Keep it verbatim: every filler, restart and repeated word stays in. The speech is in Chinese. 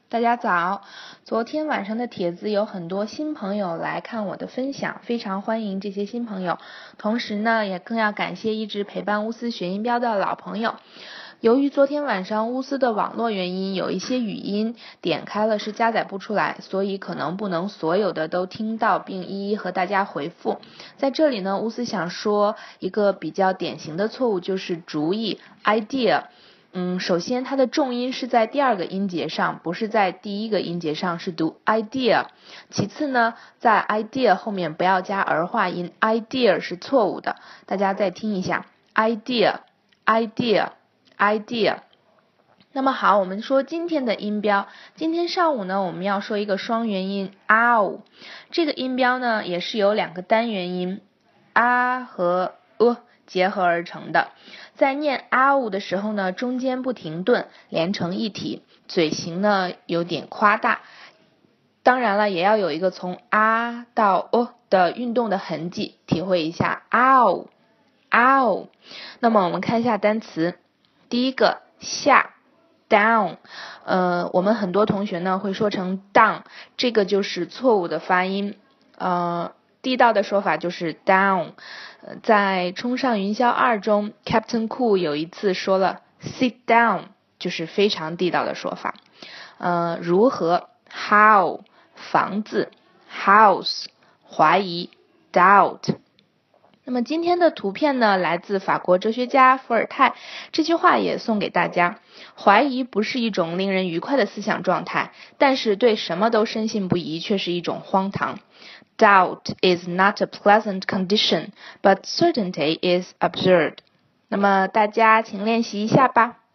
大家早，昨天晚上的帖子有很多新朋友来看我的分享，非常欢迎这些新朋友。同时呢，也更要感谢一直陪伴乌斯学音标的老朋友。由于昨天晚上乌斯的网络原因，有一些语音点开了是加载不出来，所以可能不能所有的都听到并一一和大家回复。在这里呢，乌斯想说一个比较典型的错误，就是主语 idea。嗯，首先它的重音是在第二个音节上，不是在第一个音节上，是读 idea。其次呢，在 idea 后面不要加儿化音 ，idea 是错误的。大家再听一下 idea，idea，idea。那么好，我们说今天的音标。今天上午呢，我们要说一个双元音 ow。这个音标呢，也是由两个单元音 a 和 呃结合而成的。在念 ow 的时候呢，中间不停顿，连成一体，嘴型呢有点夸大。当然了，也要有一个从 a 到 o 的运动的痕迹，体会一下 ow ow。那么我们看一下单词，第一个下 down， 呃，我们很多同学呢会说成 down， 这个就是错误的发音，呃。地道的说法就是 down。在冲上云霄二中 Captain Cool 有一次说了 sit down， 就是非常地道的说法。呃，如何 how， 房子 house， 怀疑 doubt。那么今天的图片呢，来自法国哲学家伏尔泰，这句话也送给大家。怀疑不是一种令人愉快的思想状态，但是对什么都深信不疑却是一种荒唐。Doubt is not a pleasant condition, but certainty is absurd. 那么大家请练习一下吧。